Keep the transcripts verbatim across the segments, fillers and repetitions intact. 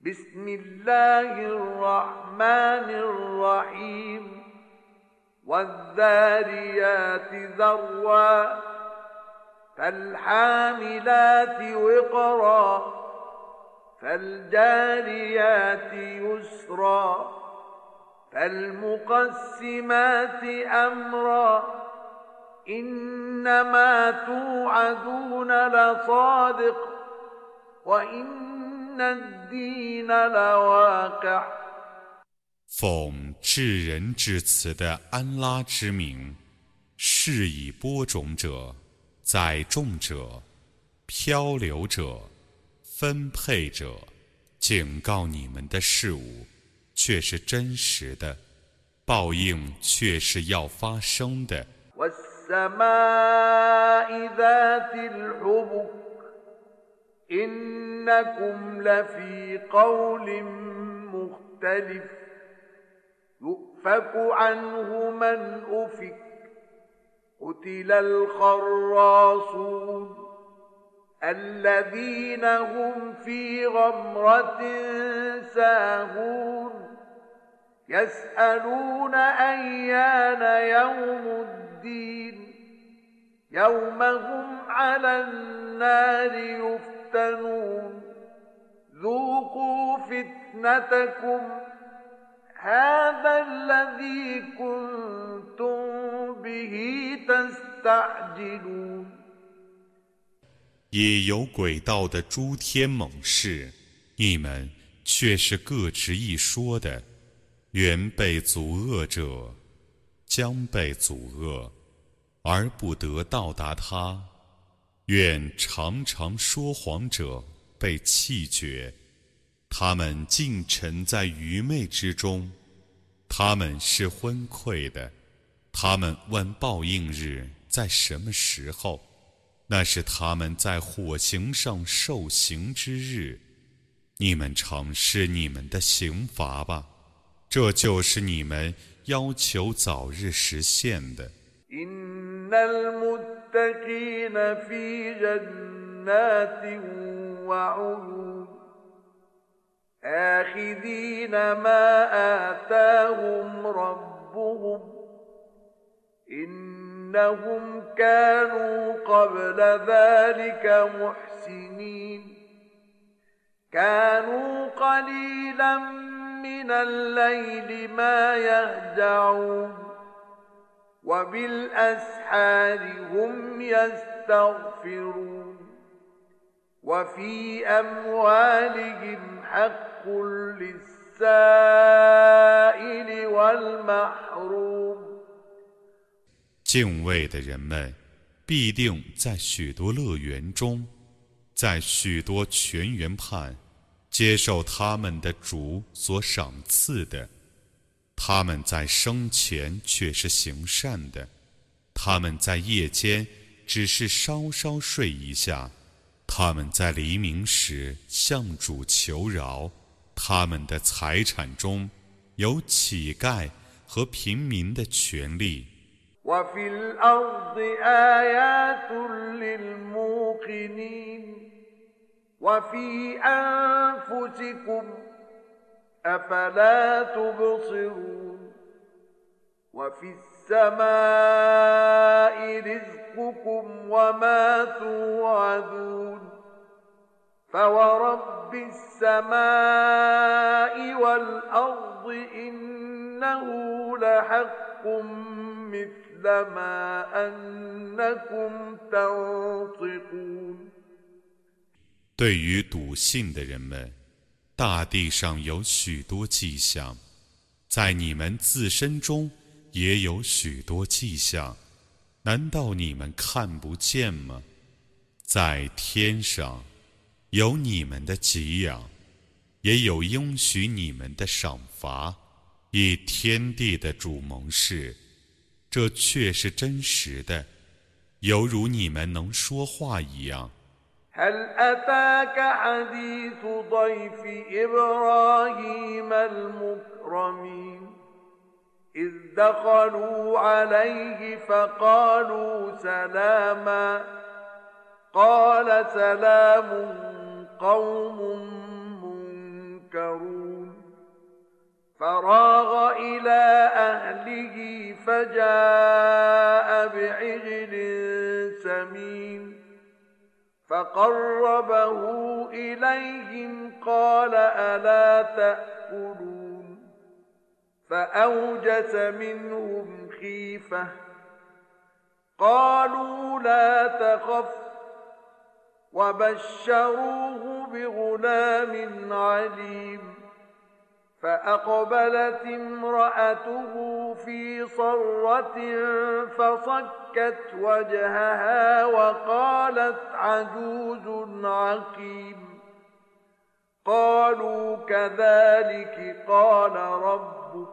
بسم الله الرحمن الرحيم والذاريات ذروا فالحاملات وقرا فالجاريات يسرا فالمقسمات أمرا إنما توعدون لصادق وإن الدين لواقع。 奉至仁至慈的安拉之名，是以播种者、载重者、漂流者、分配者，警告你们的事物，却是真实的，报应却是要发生的。 والسماء ذات الحبك إنكم لفي قول مختلف يؤفك عنه من أفك قتل الخراصون الذين هم في غمرة ساهون يسألون أيان يوم الدين يوم هم على النار يفتنون ذوقوا فتنتكم هذا الذي كنتم به تستعجلون。 也有诡道的诸天猛士，你们却是各执一说的，原被阻遏者将被阻遏，而不得到达他。愿常常说谎者被弃绝，他们尽沉在愚昧之中，他们是昏聩的。他们问报应日在什么时候，那是他们在火刑上受刑之日。你们尝试你们的刑罚吧，这就是你们要求早日实现的。 إن المتقين في جنات وعيون آخذين ما آتاهم ربهم إنهم كانوا قبل ذلك محسنين كانوا قليلا من الليل ما يهجعون وبالأسحار هم يستغفرون وفي أموالهم حق للسائل والمحروم。 敬畏的人们必定在许多乐园中，在许多泉源畔接受他们的主所赏赐的。他们在生前却是行善的，他们在夜间只是稍稍睡一下，他们在黎明时向主求饶。他们的财产中有乞丐和平民的权利。 وفي الأرض آيات للموقنين وفي أنفسكم أفلا تبصرون وفي السماء رزقكم وما توعدون فورب السماء والأرض إنه لحق مثل ما أنكم تنطقون。 对于笃信的人们，大地上有许多迹象，在你们自身中也有许多迹象，难道你们看不见吗？在天上有你们的给养，也有应许你们的赏罚，以天地的主盟誓，这却是真实的，犹如你们能说话一样。 هل أتاك حديث ضيف إبراهيم المكرمين إذ دخلوا عليه فقالوا سلاما قال سلام قوم ينكرون فراغ إلى أهله فجاء بعجل سمين فقربه إليهم قال ألا تأكلون فأوجس منهم خيفة قالوا لا تخف وبشروه بغلام عليم فأقبلت امرأته في صرة فصكت وجهها وقالت عجوز عقيم قالوا كذلك قال ربك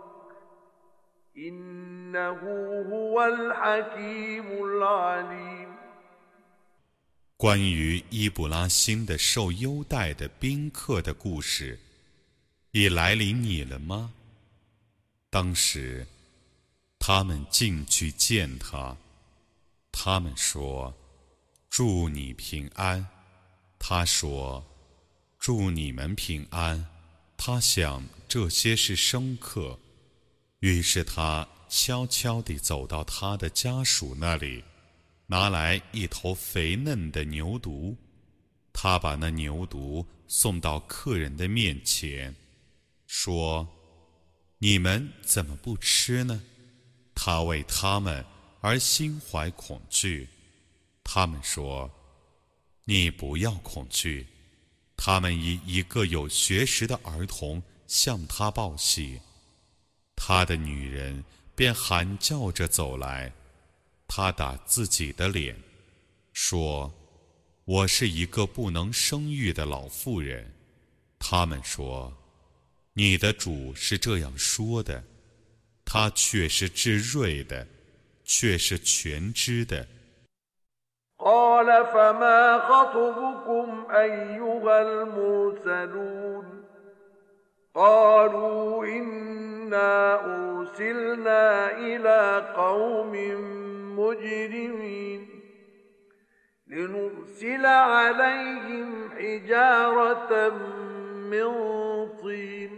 إنه هو الحكيم العليم 关于伊布拉欣的受优待的宾客的故事已来临你了吗？当时他们进去见他，他们说祝你平安，他说祝你们平安，他想这些是生客，于是他悄悄地走到他的家属那里，拿来一头肥嫩的牛犊，他把那牛犊送到客人的面前，说你们怎么不吃呢？他为他们而心怀恐惧。他们说你不要恐惧。他们以一个有学识的儿童向他报喜，他的女人便喊叫着走来，他打自己的脸，说我是一个不能生育的老妇人。他们说你的主是这样说的，他却是至睿的，却是全知的。 قال فما خطبكم أيها المرسلون قالوا إنا أرسلنا إلى قوم مجرمين لنرسل عليهم حجارة من طين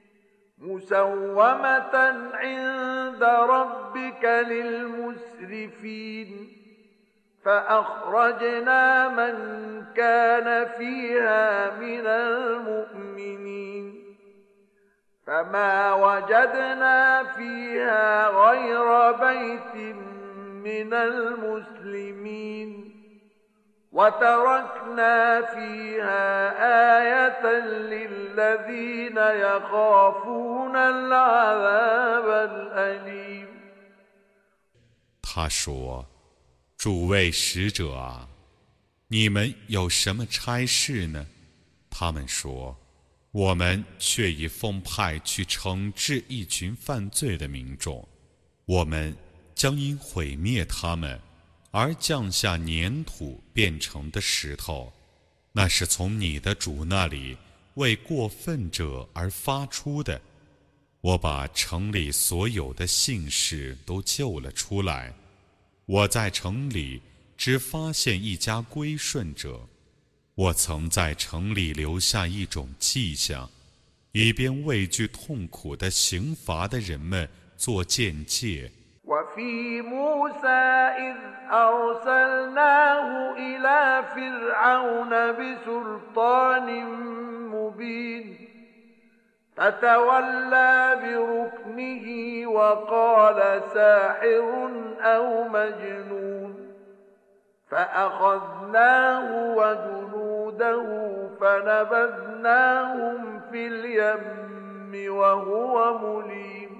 مسومة عند ربك للمسرفين فأخرجنا من كان فيها من المؤمنين فما وجدنا فيها غير بيت من المسلمين وتركنا فيها آية للذين يخافون العذاب الأليم 他说诸位使者啊，你们有什么差事呢？他们说我们却已奉派去惩治一群犯罪的民众，我们将因毁灭他们而降下粘土变成的石头，那是从你的主那里为过分者而发出的。我把城里所有的信士都救了出来，我在城里只发现一家归顺者，我曾在城里留下一种迹象，以便畏惧痛苦的刑罚的人们做鉴戒。 وفي موسى إذ أرسلناه إلى فرعون بسلطان مبين فتولى بركنه وقال ساحر أو مجنون فأخذناه وجنوده فنبذناهم في اليم وهو مليم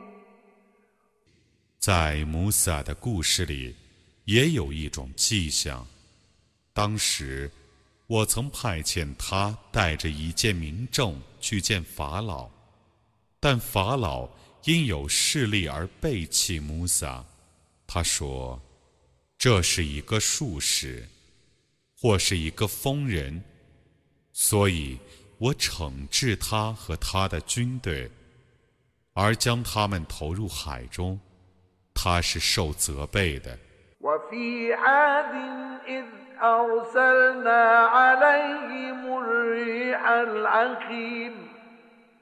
在摩萨的故事里也有一种迹象，当时我曾派遣他带着一件民证去见法老，但法老因有势力而背弃摩萨，他说这是一个术士或是一个疯人，所以我惩治他和他的军队，而将他们投入海中，他是受责备的。 وفي عاد إذ أرسلنا عليهم الريح العقيم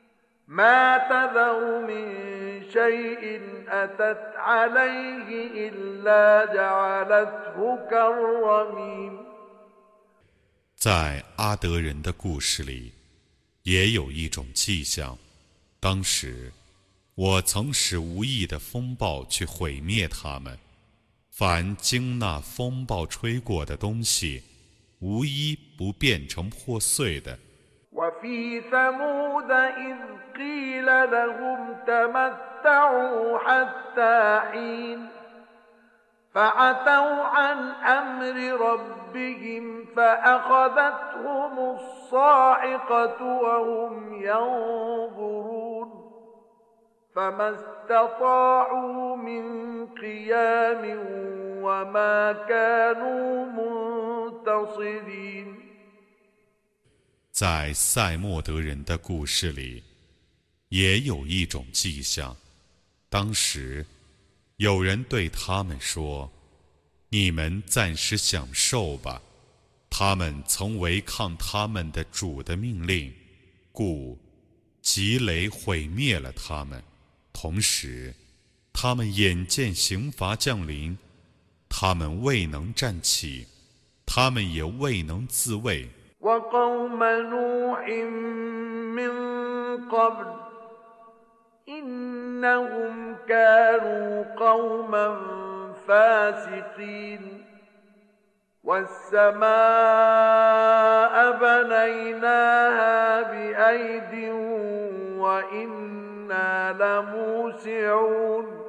ما تذر من شيء أتت عليه إلا جعلته كالرميم 在阿德人的故事里，也有一种迹象。当时，我曾使无意的风暴去毁灭他们。凡经那风暴吹过的东西，无一不变成破碎的。 وفي ثمود إذ قيل لهم تمتعوا حتى حين فعتوا عن أمر ربهم فأخذتهم الصاعقة وهم ينظرون فما استطاعوا من قيام وما كانوا منتصرين 在塞莫德人的故事里，也有一种迹象。当时，有人对他们说：“你们暂时享受吧。”他们曾违抗他们的主的命令，故急雷毁灭了他们。同时，他们眼见刑罚降临，他们未能站起，他们也未能自卫。 وقوم نوح من قبل إنهم كانوا قوما فاسقين والسماء بنيناها بأيد وإنا لموسعون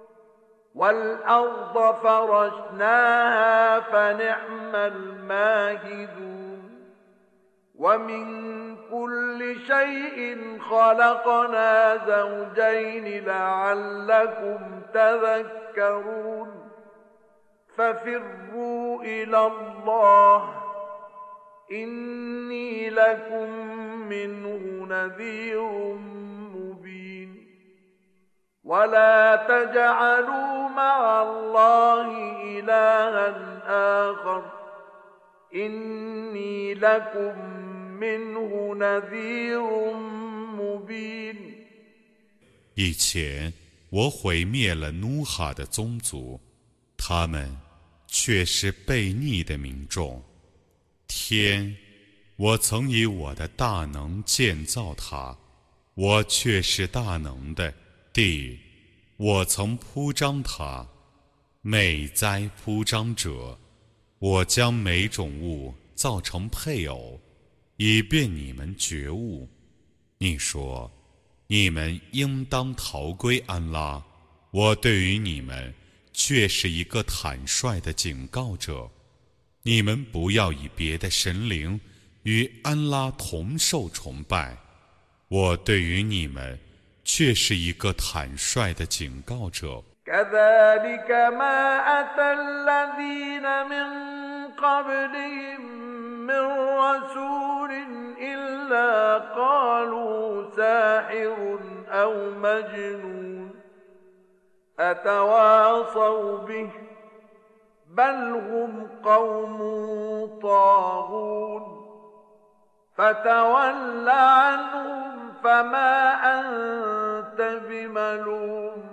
والأرض فرشناها فنعم الماهدون ومن كل شيء خلقنا زوجين لعلكم تذكرون ففروا إلى الله إني لكم منه نذير مبين ولا تجعلوا مع الله إلها آخر إني لكم منه نذير مبين 以前我毁灭了努哈的宗族，他们却是悖逆的民众。天，我曾以我的大能建造它，我却是大能的。地，我曾铺张它，美哉铺张者！我将每种物造成配偶，以便你们觉悟。你说，你们应当逃归安拉，我对于你们却是一个坦率的警告者。你们不要以别的神灵与安拉同受崇拜，我对于你们却是一个坦率的警告者。 كذلك ما أتى الذين من قبلهم من رسول إلا قالوا ساحر أو مجنون أتواصوا به بل هم قوم طاغون فتول عنهم فما أنت بملوم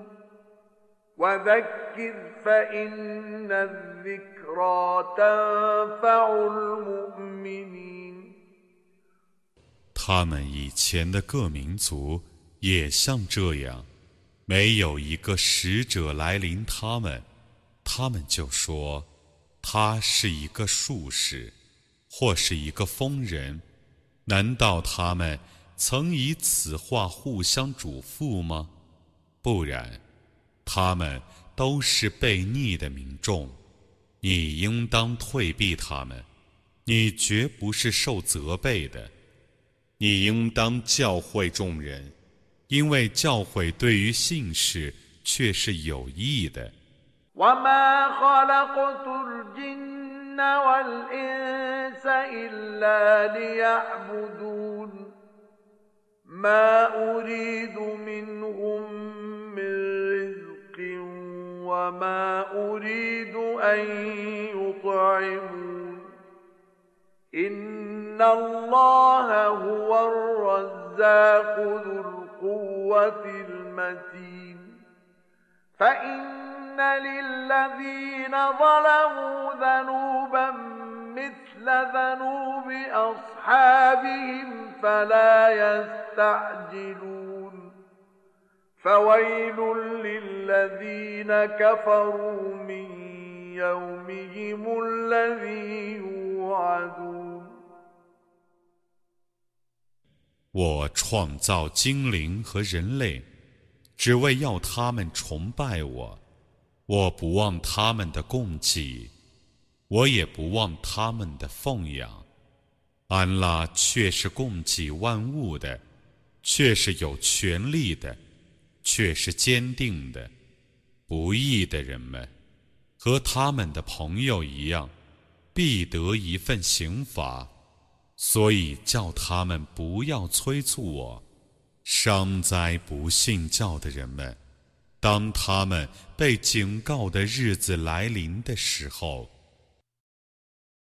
وذكر فإن الذكرى تنفع المؤمنين 他们以前的各民族也像这样，没有一个使者来临他们，他们就说他是一个术士，或是一个疯人。难道他们曾以此话互相嘱咐吗？不然，他们都是悖逆的民众，你应当退避他们，你绝不是受责备的。你应当教诲众人，因为教诲对于信士却是有益的。 وما خلقت الجن والإنس إلا ليعبدون ما أريد منهم من رزق وما أريد أن يطعمون إن الله هو الرزاق ذو القوة القوة المتين فإن للذين ظلموا ذنوبا مثل ذنوب أصحابهم فلا يستعجلون فويل للذين كفروا من يومهم الذي يوعدون 我创造精灵和人类，只为要他们崇拜我。我不忘他们的供给，我也不忘他们的奉养。安拉却是供给万物的，却是有权力的，却是坚定的。不义的人们和他们的朋友一样，必得一份刑罚。所以叫他们不要催促我。伤哉不信教的人们，当他们被警告的日子来临的时候，